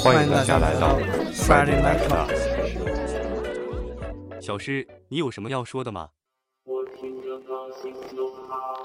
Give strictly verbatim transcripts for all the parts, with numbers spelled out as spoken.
欢迎大家来到 Friday Night Class。 小诗，你有什么要说的吗？ 我听着高兴就好。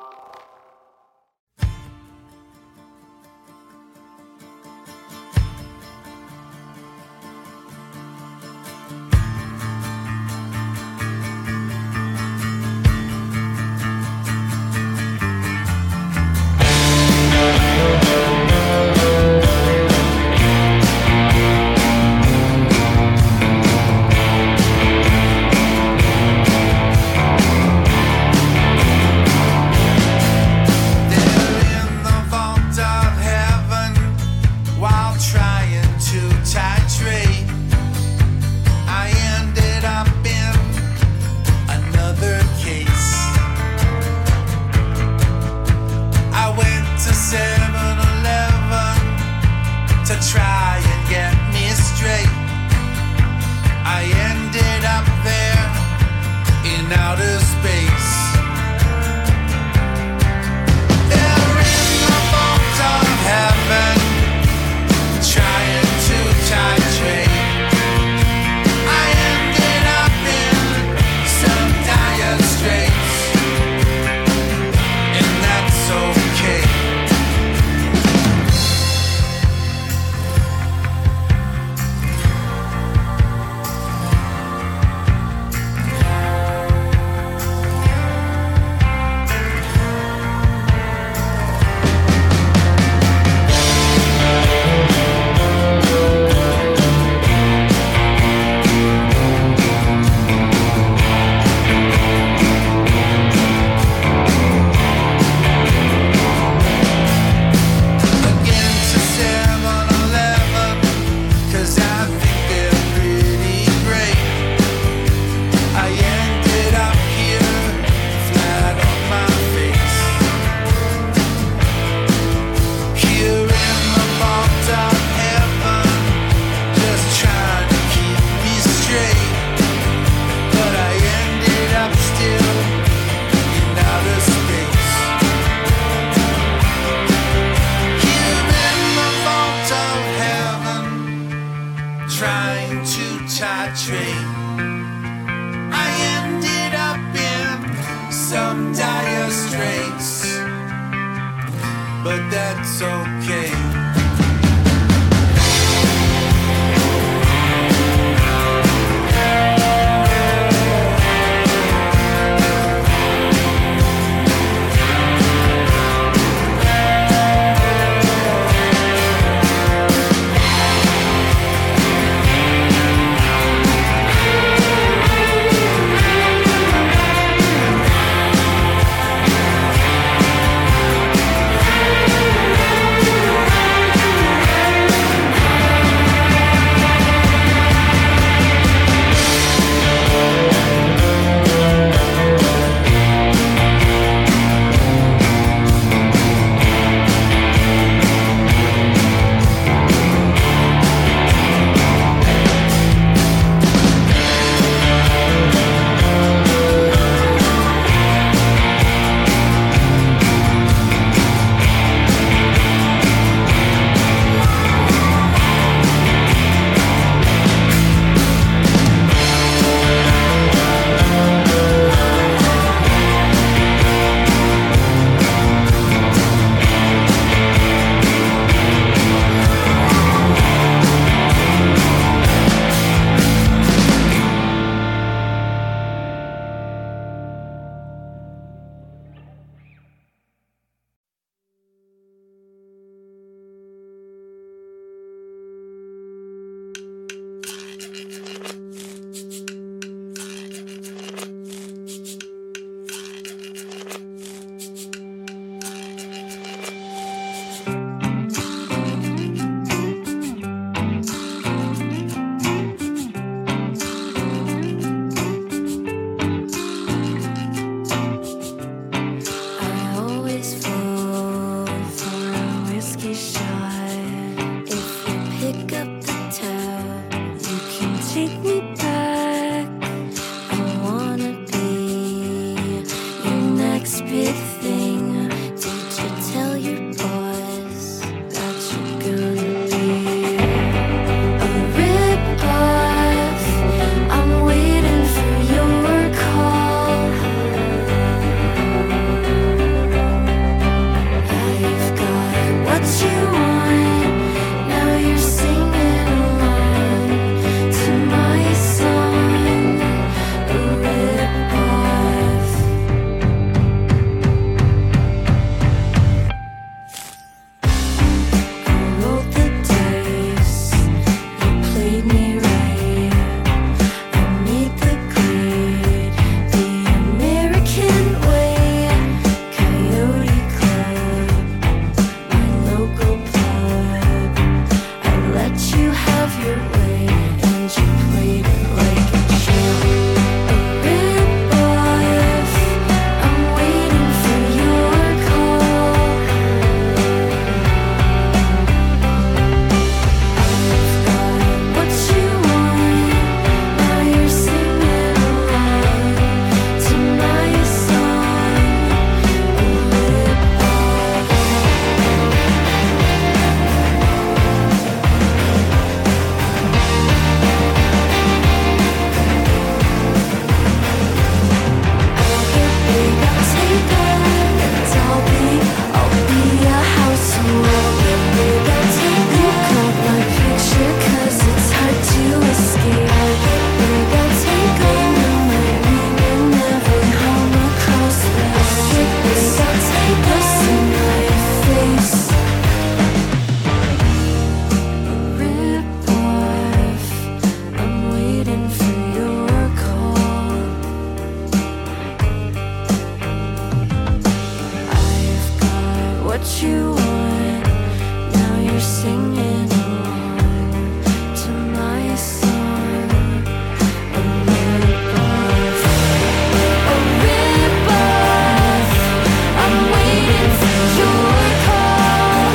what you want. Now you're singing along to my song. A rip-off, a rip-off. I'm waiting for your call.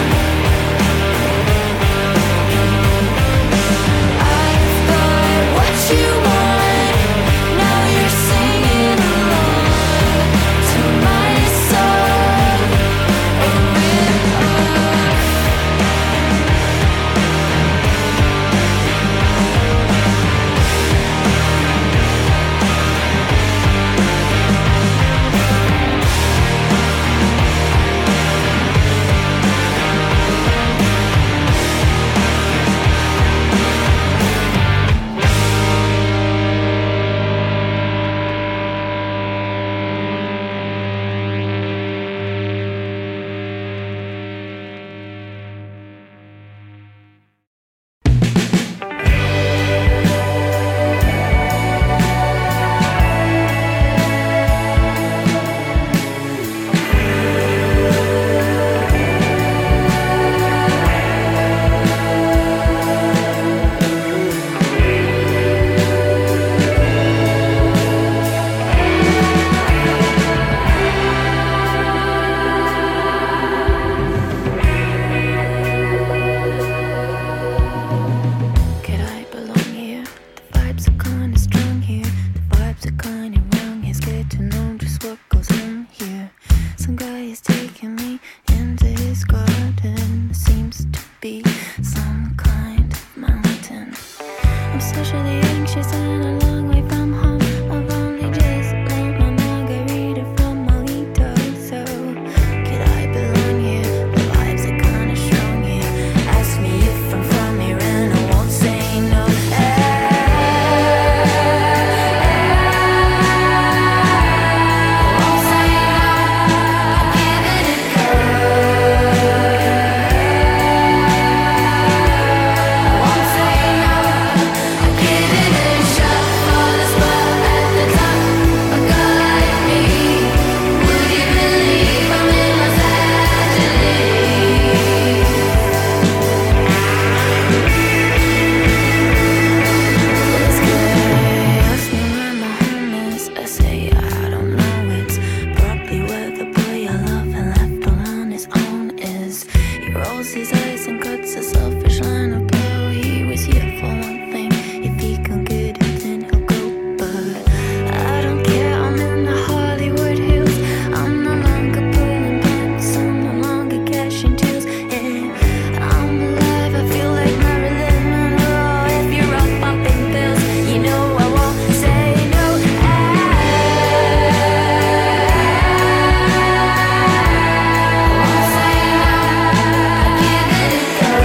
I've got what you want. Now you're singing along to my song. A rip-off. Could I belong here? The vibes are kinda strong here. The vibes are kinda wrong. It's good to know just what goes on here. Some guy is taking me into his garden. It seems to be some kind of mountain. I'm socially anxious and a long way from home. I've only just learned my margarita from Mojito. So could I belong here? The vibes are kinda strong here. Ask me if I'm from here and I won't say no. His eyes and cuts a selfish line of blow. He was here for one thing. If he can get it, then he'll go. But I don't care. I'm in the Hollywood Hills. I'm no longer pulling blunts. I'm no longer cashing chills. Yeah, I'm alive. I feel like Marilyn Monroe. If you're up popping pills, you know I won't say no. I won't say no. Give it a go.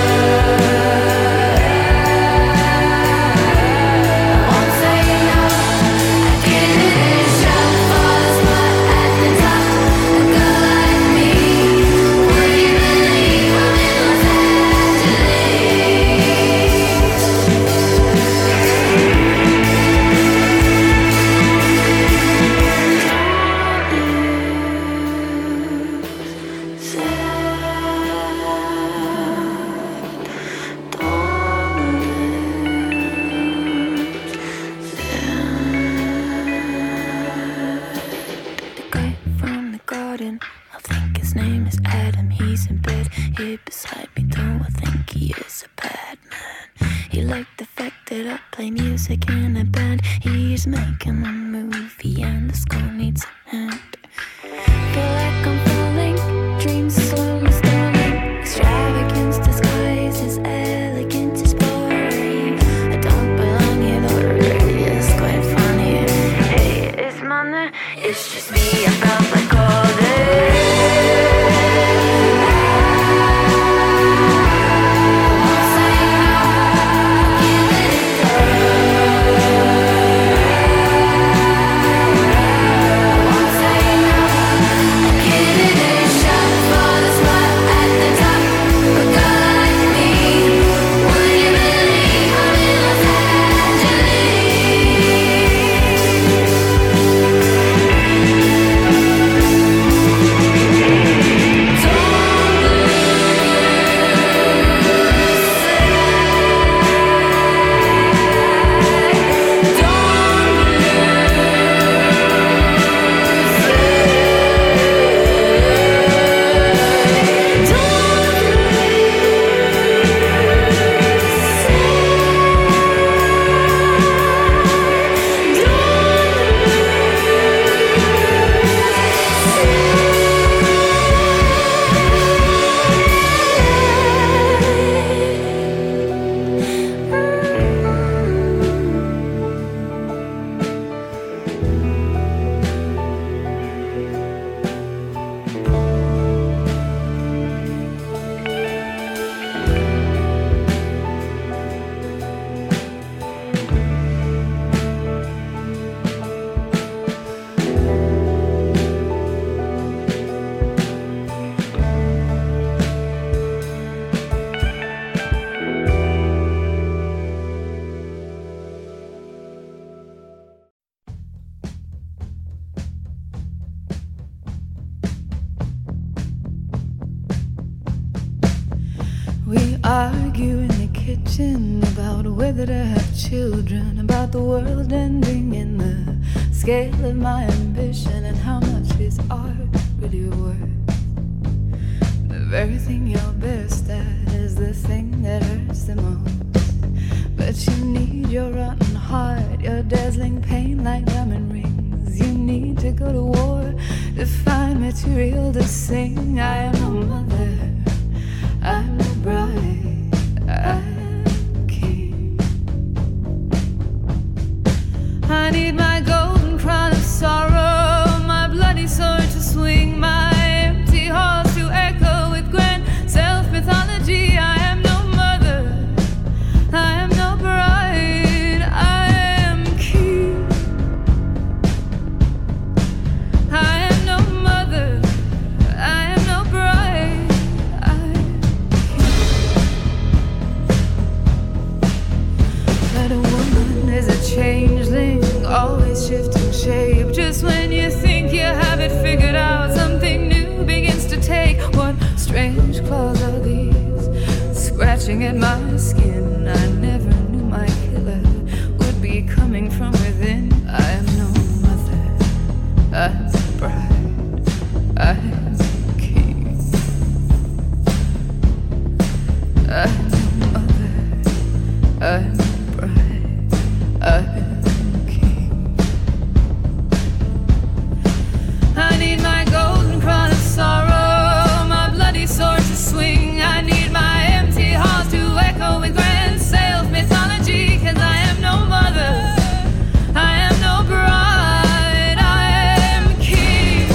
play music in a band. He's making a movie and the score needs a hand. Feel like I'm falling, dreams slowly stalling. Extravagance disguises elegance is boring. I don't belong here, though it really is quite funny. Hey, it's money, it's just me. I felt like all day. I Argue in the kitchen about whether to have children, about the world ending in the scale of my ambition, and how much is art really worth. The very thing you're best at is the thing that hurts the most. But you need your rotten heart, your dazzling pain like diamond rings. You need to go to war to find material to sing. I am no mother, I'm no bride, I'm king. I need my golden crown of sorrow, my bloody sword to swing, my empty halls to echo with grand self-mythology. I am no mother, I am no bride, I am king. I am no mother, I am no bride, I am king. But a woman is a changeling, always shifting shape. Just when you think you have it figured out, something new begins to take. What strange claws are these, scratching at my skin? I never knew my killer would be coming from within. I am no mother, I'm a bride, I am king. I am no mother, I'm a bride, I am king. I need my golden crown of sorrow, my bloody sword to swing. I need my empty halls to echo with grand self-mythology. 'Cause I am no mother, I am no bride, I am king.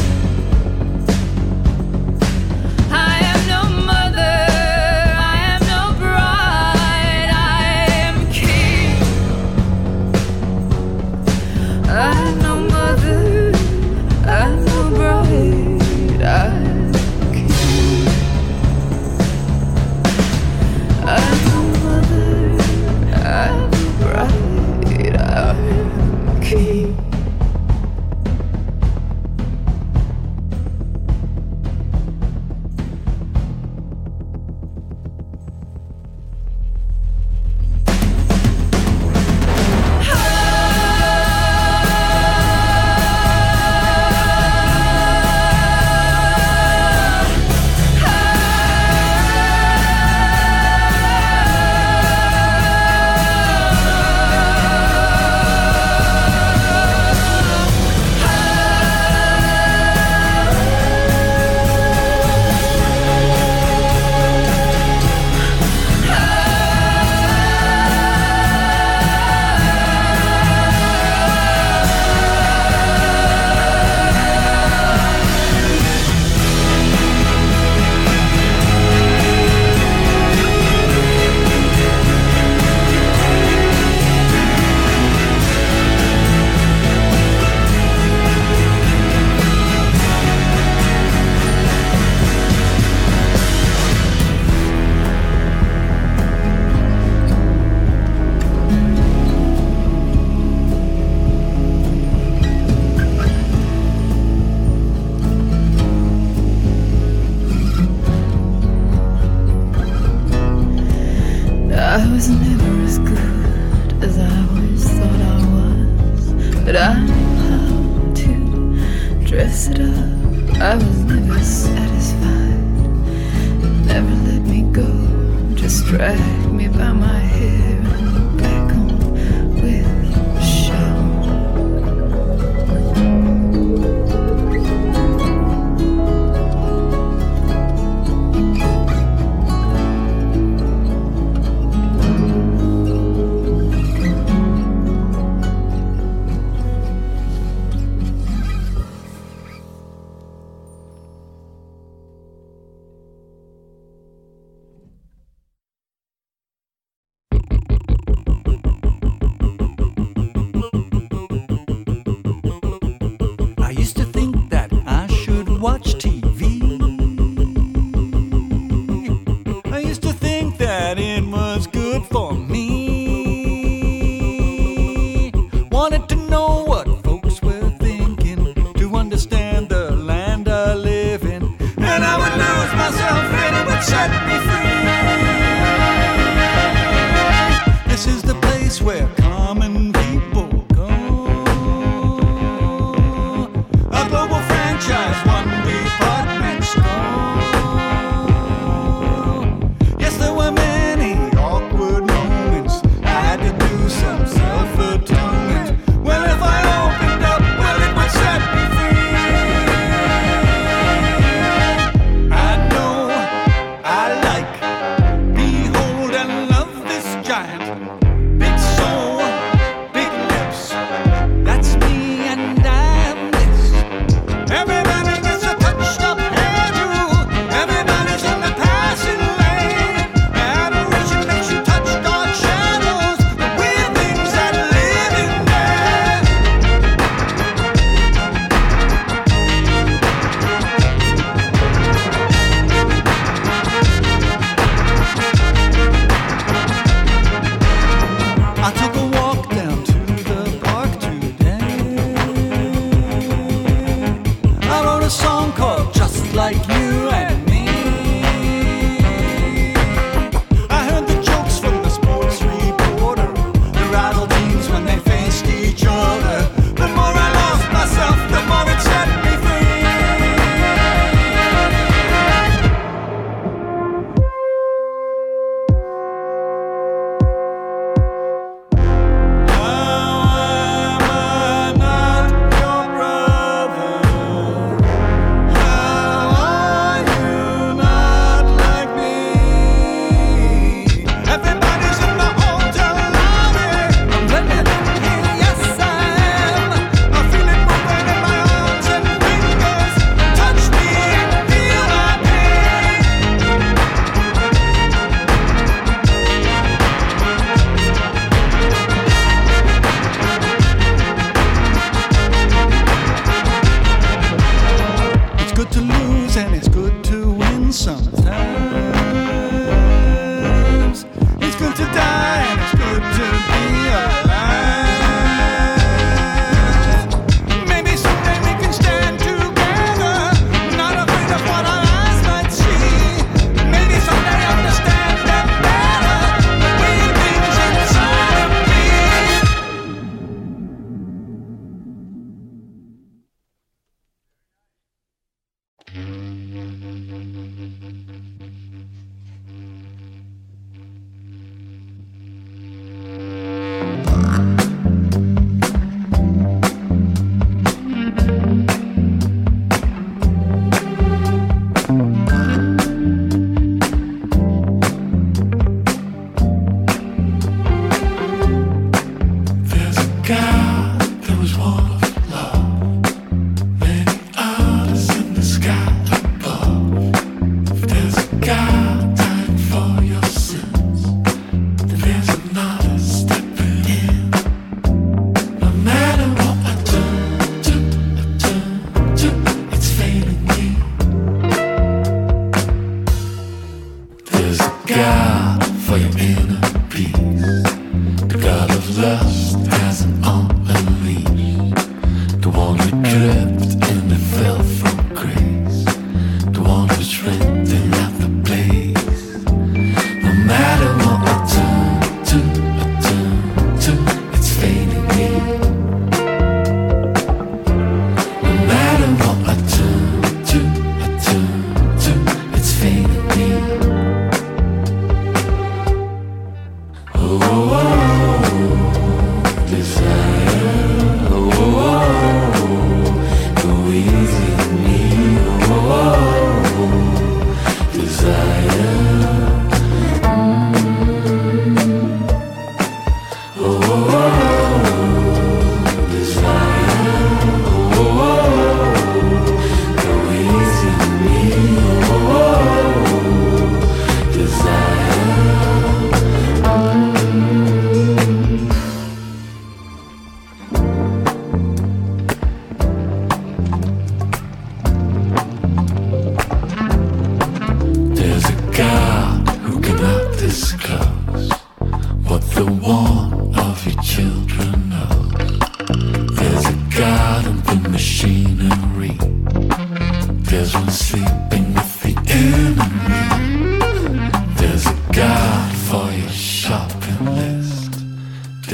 I am no mother, I am no bride, I am king. I am no mother, I am no bride, I am king. I am no mother, I am no bride, I am king. I was never as good as I always thought I was, but I knew how to dress it up. I was never satisfied, it never let me go. Just drag me by my hair and back home with a show. place where common people go. A global franchise, one department store. Yes, there were many awkward moments. I had to do some self-atonement. Well, if I opened up, well, it would set me free. I know I like, behold and love this giant. Big soul, big lips. That's me and I am this. Everybody gets a touched up hairdo. Everybody's in the passing lane. Adoration makes you touch dark shadows. The weird things that live in there. I took a walk down to the park today. I wrote a song called Just Like You and Me. I heard the jokes from the sports reporter, the rival teams when they faced each other. The more I lost myself, the more it set me free. How am I not your brother? How are you not like me? Everybody's in the hotel lobby. I'm letting them in, yes I am. I feel it moving in my arms and fingers. Touch me and feel my pain. It's good to lose and it's good to win sometimes. It's good to die and it's good to be alive. Maybe someday we can stand together, not afraid of what our eyes might see. Maybe someday understand them better, the weird things inside of me. There's a God that was one of love, many others in the sky above. There's a God dying for your sins, then there's another stepping in. No matter what I do, do, I do, do, it's failing me. There's a God for your inner peace. The God of lust hasn't on a leash. The one who dripped and then fell from grace. The one who's renting at the place. No matter what I do, do, I do, do, it's failing me. No matter what I do, do, I do, do, it's failing me. Oh, oh, oh, desire. Oh, oh, oh, go easy on me. Oh, oh, oh, desire. Mm. Oh, oh, oh, desire. Oh, oh, oh, go easy on me. Oh, oh, oh, desire. There's a God who cannot disclose what the one of your children knows. There's a God in the machinery. There's one sleeping with the enemy. There's a God for your shopping list.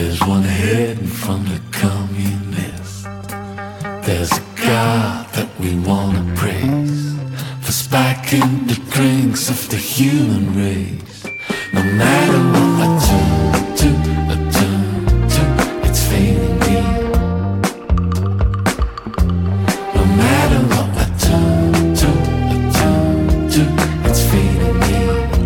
from the communist. There's a God that we wanna praise for spiking the drinks of the human race. No matter what I turn to, I turn to, it's fading me. No matter what I turn to, I turn to, it's fading me.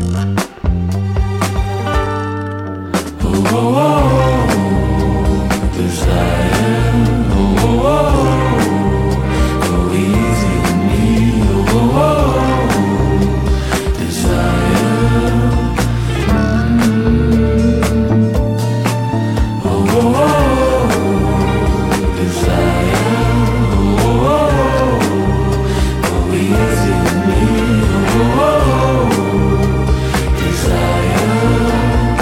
Oh, oh, oh, desire. Oh, oh, oh, go easy on me. Oh, oh, oh, desire. Mm. Oh, oh, oh, desire. Oh, oh, oh, go easy on me. Oh, oh, oh, desire.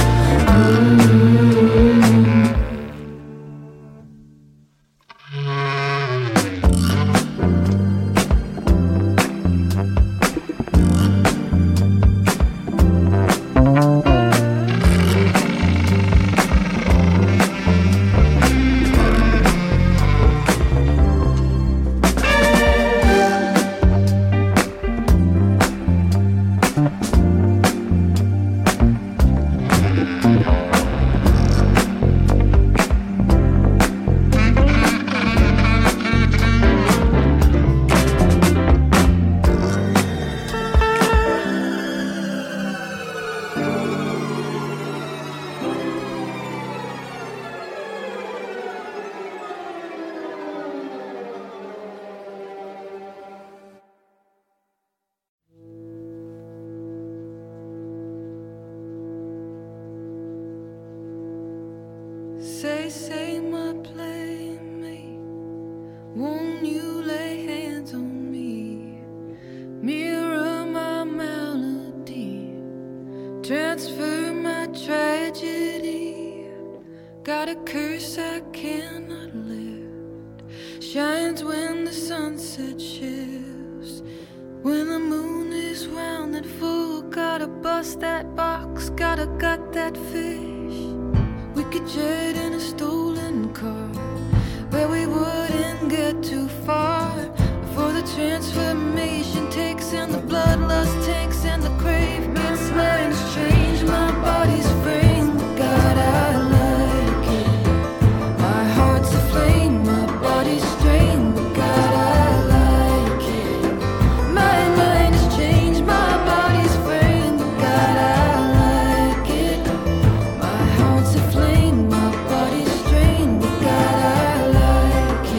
Say, say, my playmate, won't you lay hands on me? Mirror my melody, transfer my tragedy. Got a curse I cannot lift, shines when the sunset shifts. When the moon is round and full, gotta bust that box, gotta gut that fish. We could jet in a stolen car, where we wouldn't get too far before the transformation takes and the bloodlust tanks and the crave. My mind's changed, my body's framed, but God, I like it. My heart's aflame, my body's strained, but God, I like it. My mind has changed, my body's framed, but God, I like it. My heart's aflame, my body's strained, but God, I like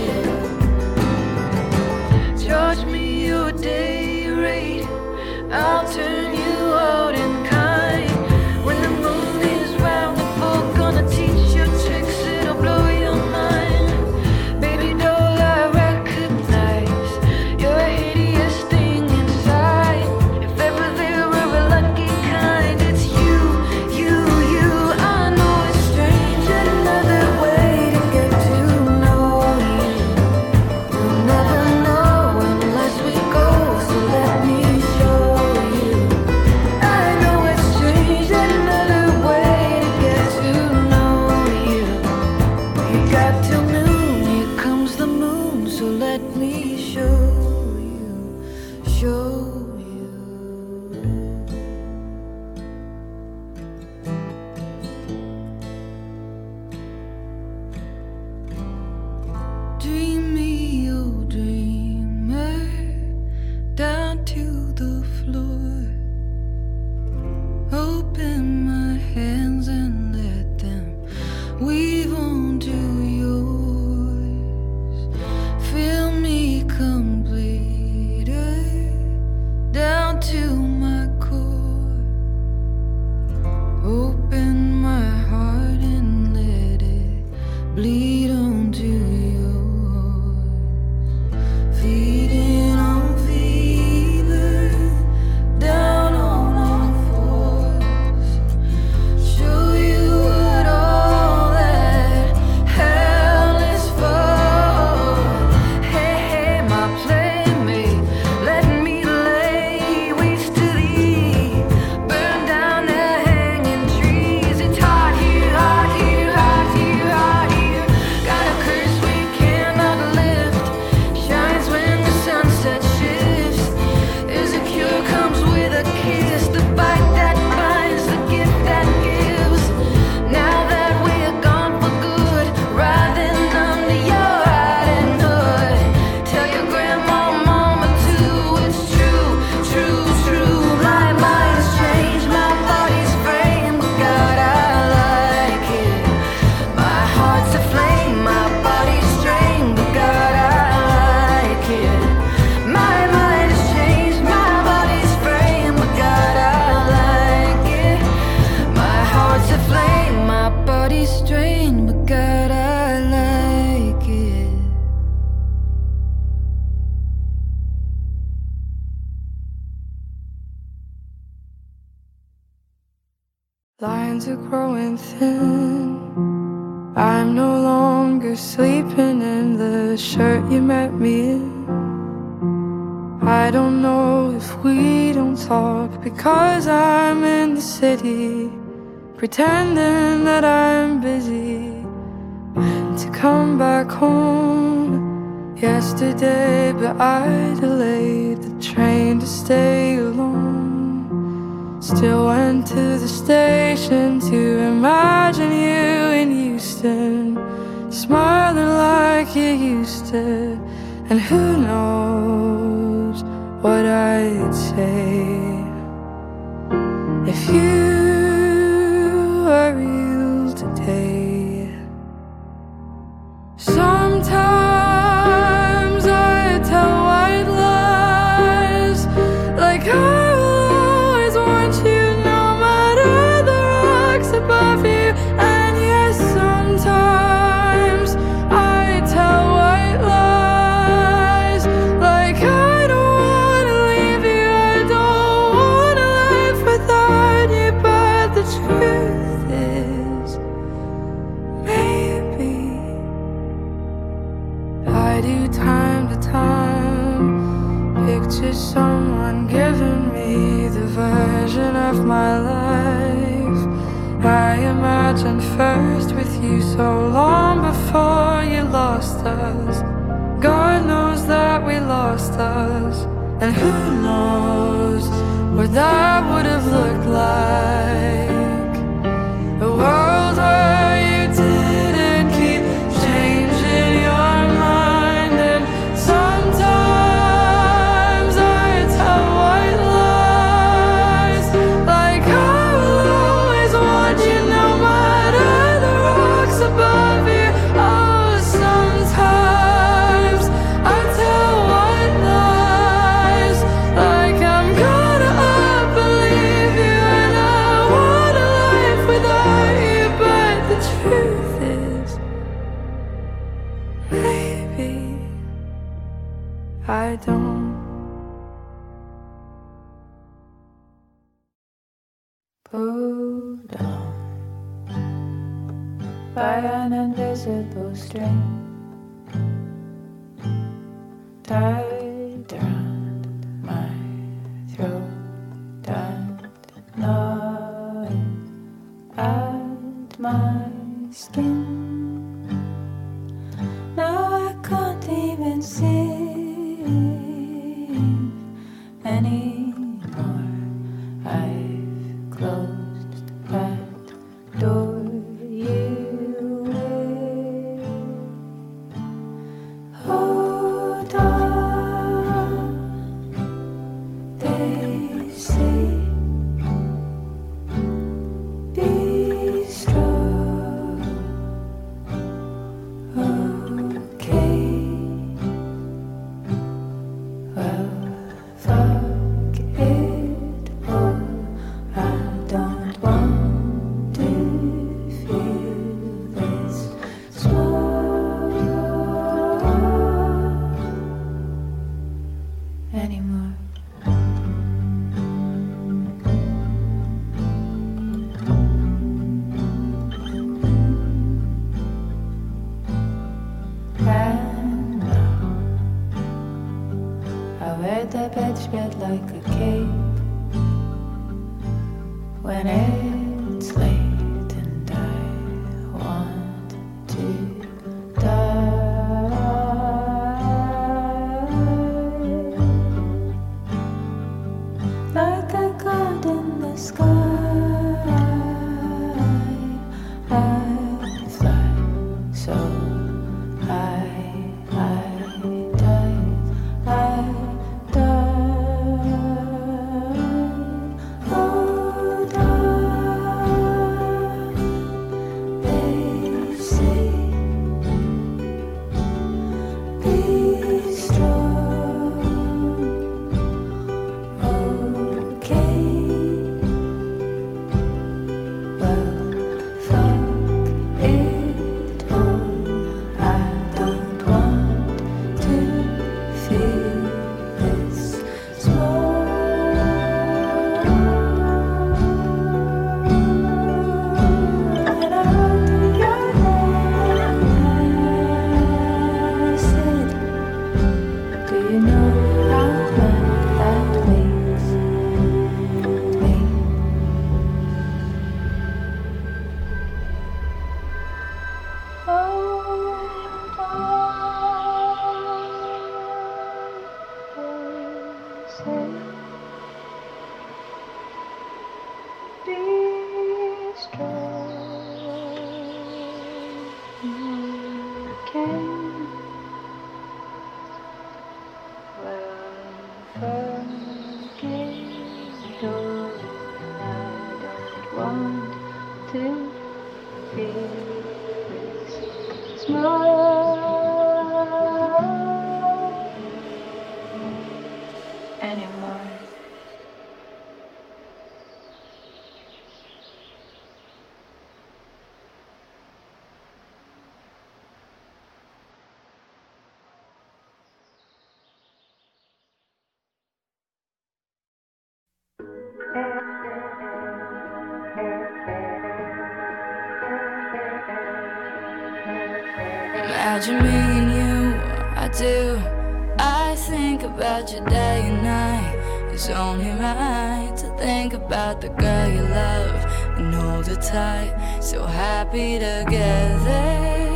it. Charge me your day rate, I'll turn you out in kind. When the moon is round and full, gonna teach you tricks, it'll blow your mind. Baby doll, I recognize your hideous thing inside. If ever there were a lucky kind, it's you, you, you. I know it's strange, another way to get to know you. We'll never know unless we go, so let me show you. I know it's strange, another way to get to know you. We got till noon, here comes the moon, so let me show you, show you. Dreamy, oh dreamer, down to the floor. Open my hands and let them weave onto yours. Feel me complete, down to my core. Open my heart and let it bleed onto yours. Feeding on fever, hands are growing thin. I'm no longer sleeping in the shirt you met me in. I don't know if we don't talk because I'm in the city, pretending that I'm busy. Meant to come back home yesterday, but I delayed the train to stay alone. Still went to the station to imagine you in Houston, smiling like you used to. And who knows what I'd say if you were real today. Sometimes I tell white lies, like I will always want you no matter the rocks above you. And yes, sometimes I tell white lies, like I don't wanna leave you, I don't wanna live without you. But the truth is, maybe I do time to time picture someone giving me the version of my life I imagined first with you so long before you lost us. God knows that we lost us, and who knows what that would have looked like. A world where you didn't keep changing your mind. And sometimes I tell white lies, like I will always want you no matter the rocks above you. Oh, sometimes I tell white lies, like I'm gonna up and leave you, and I want a life without you. But the truth is, maybe I don't. Pulled on by an invisible string, tied around my throat and gnawing at my skin. Now I can't even sing anymore. I've closed that door you will. Hold on, they say, be strong, okay. Well, fuck it all. I don't want to feel this small anymore. And now I wear the bedspread like a cape when it's late and I want to die. Like a god in the sky, I fly so high, I dive, I die. Hold on. Imagine me and you, I do. I think about you day and night. It's only right to think about the girl you love and hold her tight. So happy together.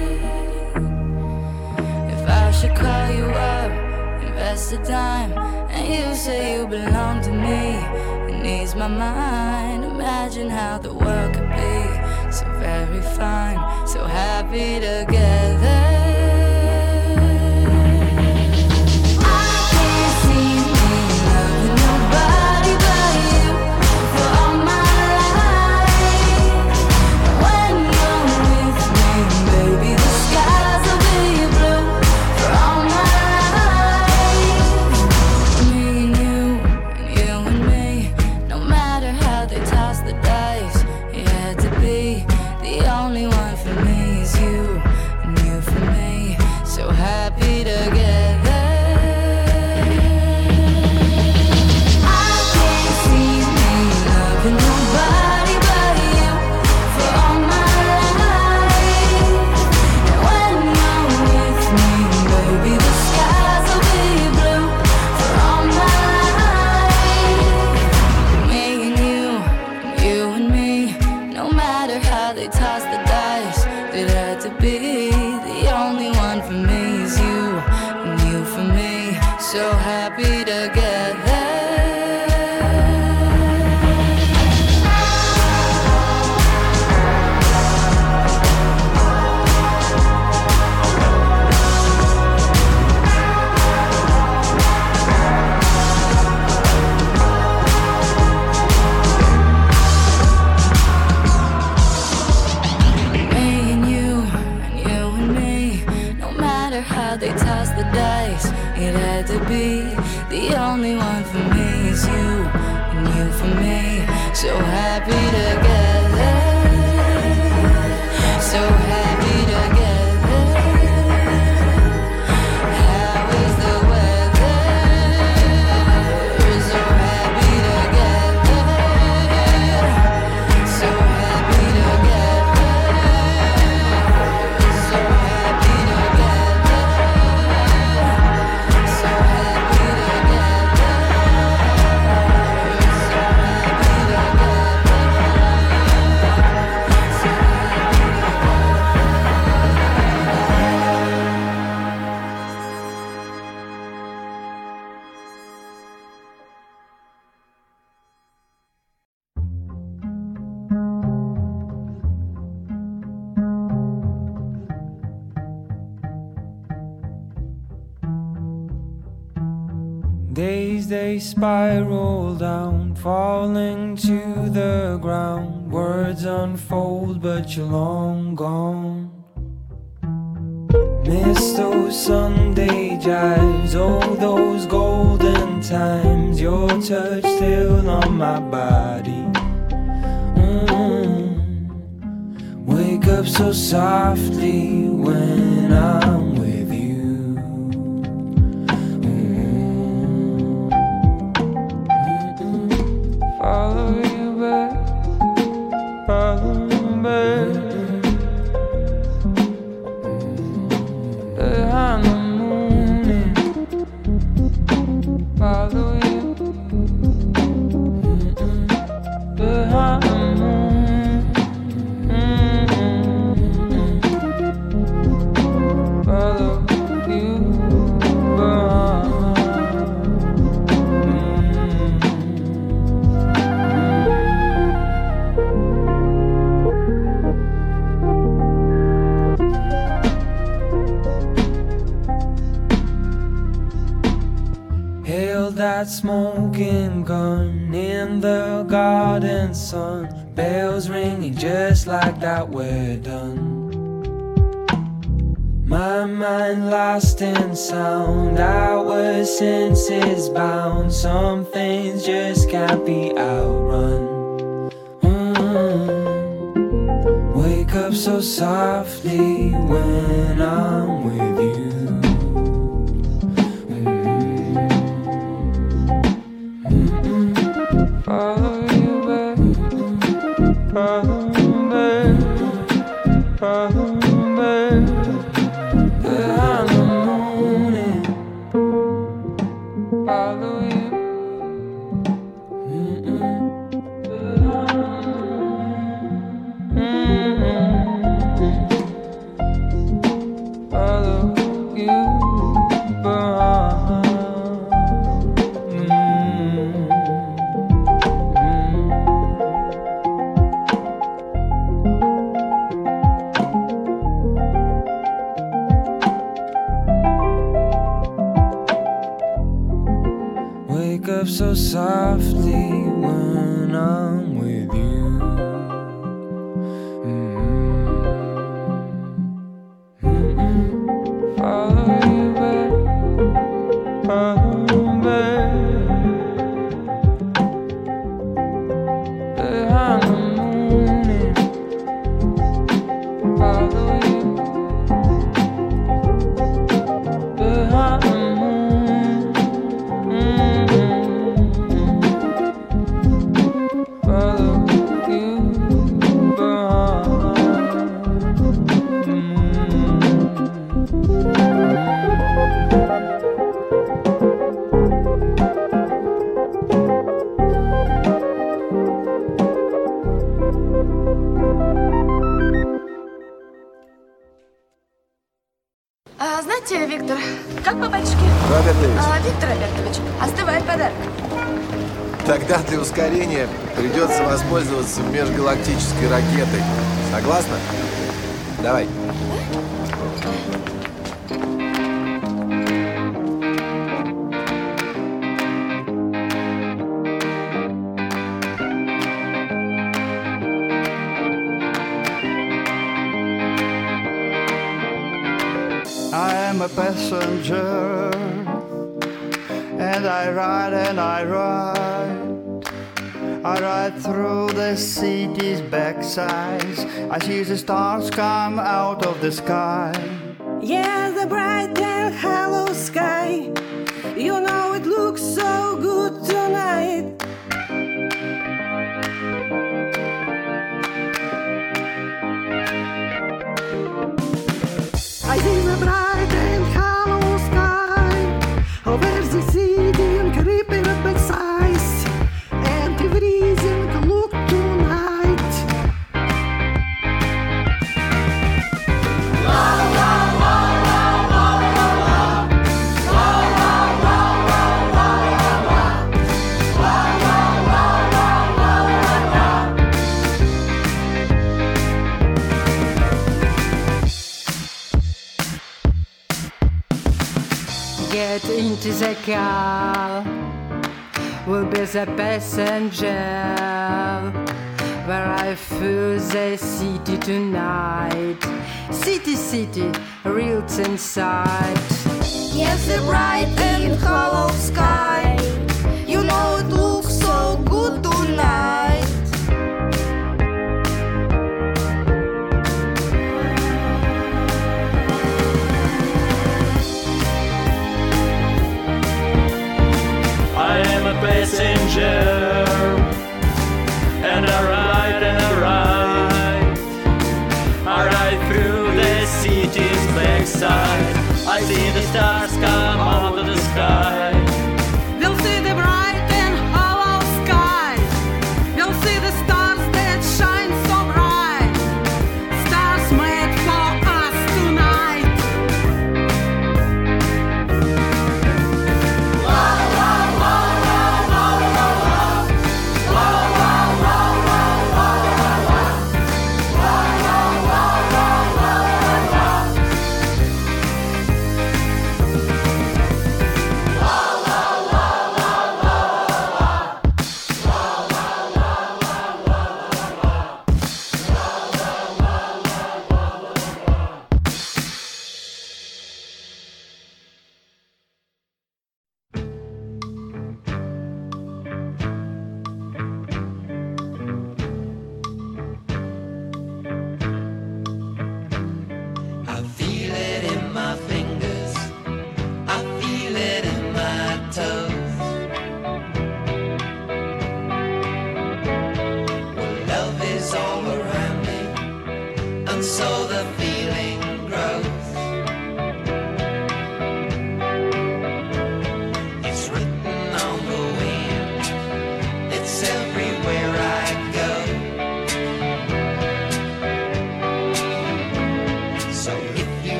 If I should call you up, invest the time, and you say you belong to me, it needs my mind. Imagine how the world could be so very fine, so happy together. Days they spiral down, falling to the ground. Words unfold, but you're long gone. Miss those Sunday jives, oh those golden times. Your touch still on my body. mm. Wake up so softly when I'm with you. Follow you back, follow you back. Behind the moon, follow you. Behind the moon, follow you. That smoking gun in the garden sun, bells ringing just like that we're done. My mind lost in sound, our senses bound. Some things just can't be outrun. mm. Wake up so softly when I'm with you. Follow you back, follow you back, follow you back. softly when I'm with you. Mm-hmm. Mm-hmm. Follow you back, follow you back behind the moon and follow you behind the moon. Mm-hmm. Follow you behind the moon. А, знаете, Виктор, как по батюшке? Робертович, А, Виктор Робертович, остывает подарок. тогда для ускорения придется воспользоваться межгалактической ракетой. Согласна? Давай. I am a passenger, and I ride and I ride. I ride through the city's backsides. I see the stars come out of the sky. Yeah, the bright and hollow sky. You know it looks so good tonight. I see the bright and hollow sky over the city and creeping up its size, and everything look tonight. Get into the car, we'll be the passenger, where I feel the city tonight. City, city, real inside. Yes, the bright and hollow sky. You know it looks so good tonight. I am a passenger, and I ride and I ride. I ride through the city's backside. I see the stars come out of the sky.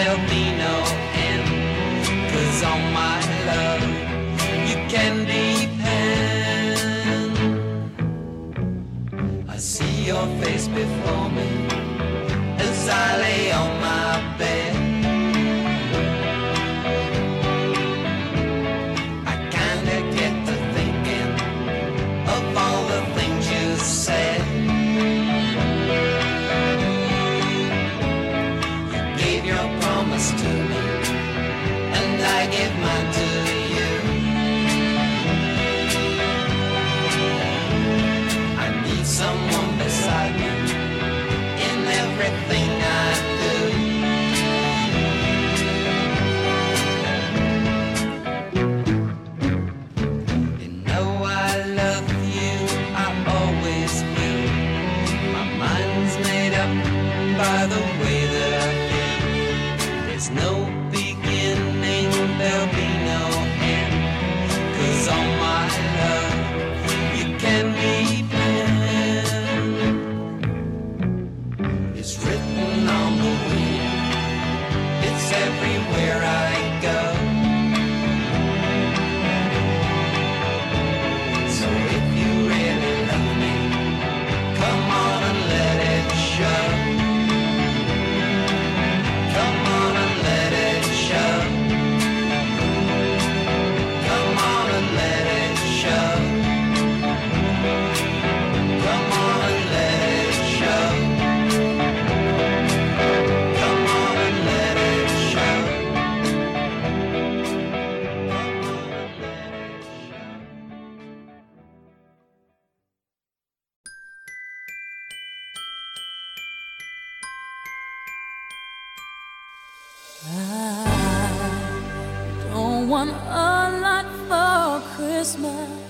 there'll be no end. 'Cause on my love you can depend. I see your face before me as I lay on my bed. I kinda get to thinking of all the things you said. You gave your promise to me, and I give mine to you. I need someone beside me in everything I do. You know I love you, I always will. My mind's made up by the way that I feel. There's no beginning, there'll be no end. 'Cause on my love you can depend. It's written on the wind, it's everywhere I go. So if you really love me, come on and let it show. Come on and let it show. Come on and let it show. Come on and let it show. Come on and let it show. I don't want a lot for Christmas.